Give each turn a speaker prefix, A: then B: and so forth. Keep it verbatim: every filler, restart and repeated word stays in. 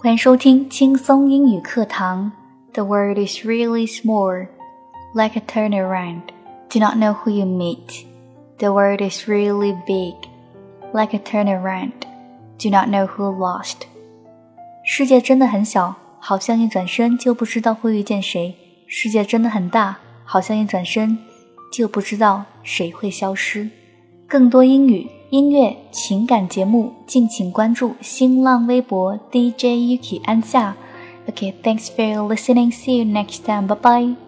A: 欢迎收听轻松英语课堂。 The world is really small, like a turnaround. Do not know who you meet. The world is really big, like a turnaround. Do not know who lost. 世界真的很小，好像一转身就不知道会遇见谁。世界真的很大，好像一转身就不知道谁会消失。更多英语、音乐、情感节目，敬请关注新浪微博 D J Yuki 安夏。Okay, thanks for listening. See you next time. Bye bye.